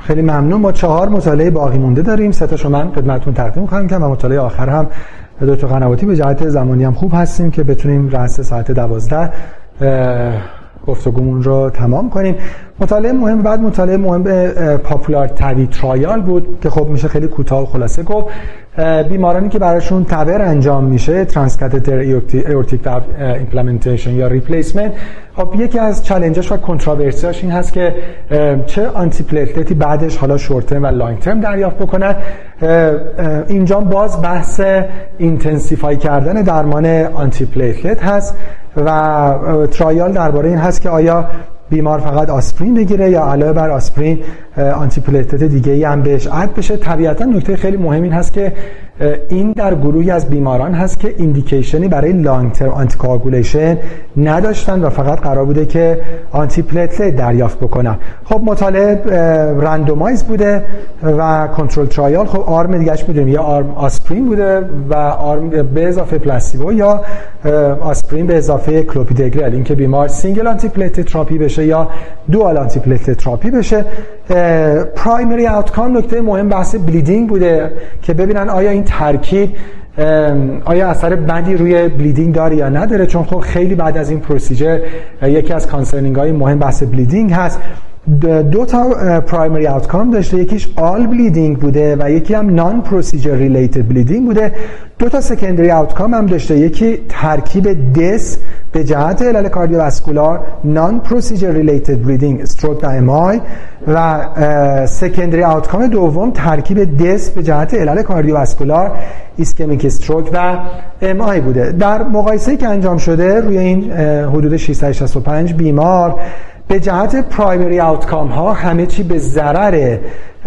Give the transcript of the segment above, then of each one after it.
خیلی ممنون. ما 4 مطالعه باقی مونده داریم. 3 تاشو من خدمتتون تقدیم خواهم کرد و مطالعه آخر هم دکتر قنواتی به جهت زمانی هم خوب هستیم که بتونیم رأس ساعت 12 گفتگومون رو تمام کنیم. مطالعه مهم بعد مطالعه مهم به پاپولار تبی ترایال بود که خب میشه خیلی کوتاه و خلاصه گفت بیمارانی که براشون تبر انجام میشه ترانسکاتتر ایورتیک والو ایمپلمنتیشن یا ریپلیسمنت. خب یکی از چالنجش و کنتروورسیاش این هست که چه آنتی پلیتلتی بعدش حالا شورت ترم و لانگ ترم دریافت بکنن. اینجا باز بحث اینتنسیفای کردن درمان آنتی پلیتلت هست و ترایال درباره این هست که آیا بیمار فقط آسپرین بگیره یا علاوه بر آسپرین آنتی پلیتلت دیگه‌ای هم بهش اد بشه. طبیعتا نکته خیلی مهم این هست که این در گروهی از بیماران هست که ایندیکیشنی برای لانگ ترم آنتی کوآگولیشن نداشتن و فقط قرار بوده که آنتی پلیتلت دریافت بکنن. خب مطالعه رندومایز بوده و کنترل ترایال. خب آرم دیگه‌اش می‌دونیم یا آرم آسپرین بوده و آرم به اضافه پلاسیبو یا آسپرین به اضافه کلوپیدوگرل، اینکه بیمار سینگل آنتی پلیتلت تراپی بشه یا دوال آنتی پلیتلت تراپی بشه. پرایمری آوتکام نکته مهم بحث بلیدینگ بوده که ببینن آیا این ترکیب آیا اثر بدی روی بلیدینگ داره یا نداره، چون خب خیلی بعد از این پروسیجر یکی از کانسرنینگ های مهم بحث بلیدینگ هست. 2 تا پرایمری آوتکام داشته، یکیش آل بلیدینگ بوده و یکی هم نان پروسیجر ریلیتد بلیدینگ بوده. 2 تا سکندری آوتکام هم داشته، یکی ترکیب دس به جهت علل کاردیوواسکولار نان پروسیجر ریلیتد بلیدینگ استروک و امای و سکندری آوتکام دوم ترکیب دس به جهت علل کاردیوواسکولار ایسکمیک استروک و امای بوده. در مقایسه‌ای که انجام شده روی این حدود 665 بیمار به جهت پرایمری آوتکام ها همه چی به ضرر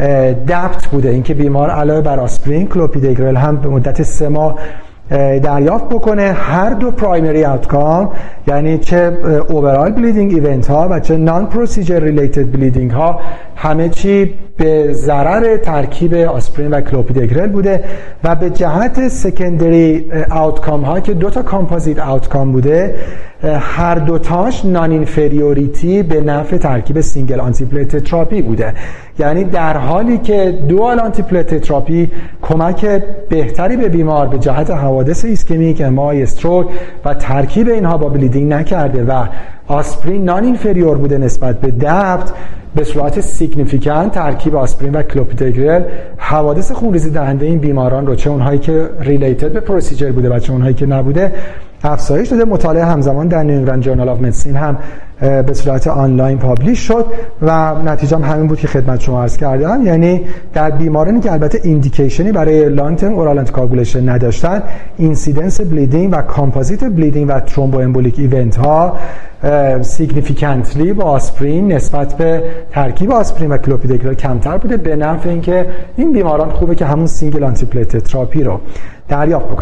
دبت بوده، اینکه بیمار علاوه بر آسپرین کلوپیدوگرل هم به مدت 3 ماه دریافت بکنه. هر دو پرایمری آوتکام یعنی چه اوورال بلیدینگ ایونت ها و چه نان پروسیجر ریلیتد بلیدینگ ها همه چی به ضرر ترکیب آسپرین و کلوپیدوگرل بوده و به جهت سکندری آوتکام ها که 2 تا کامپوزیت آوتکام بوده هر دوتاش نان اینفریوریتی به نفع ترکیب سینگل آنتی پلیتلت تراپی بوده. یعنی در حالی که دوال آنتی پلیتلت تراپی کمک بهتری به بیمار به جهت حوادث ایسکمیک امای استروک و ترکیب اینها با بلیدینگ نکرده و آسپرین نان اینفریور بوده نسبت به دبت، به صورت سیگنیفیکانت ترکیب آسپرین و کلوپیدوگرل حوادث خونریزی دهنده این بیماران رو چه اونهایی که ریلیتد به پروسیجر بوده و چه اونهایی که نبوده افزایش داده. مطالعه همزمان در نیو انگلند جورنال آف مدیسین هم به صورت آنلاین پابلیش شد و نتیجه هم همین بود که خدمت شما عرض کردم. یعنی در بیمارانی که البته ایندیکیشنی برای لانگ ترم اورال آنتی کوآگولیشن نداشتن، اینسیدنس بلیدینگ و کامپوزیت بلیدینگ و ترومبو امبولیک ایونت ها سیگنیفیکانتلی با آسپرین نسبت به ترکیب آسپرین و کلوپیدوگرل کمتر بوده، به نفع اینکه این بیماران خوبه که همون سینگل آنتی پلیتلت تراپی رو دریافت بکنن.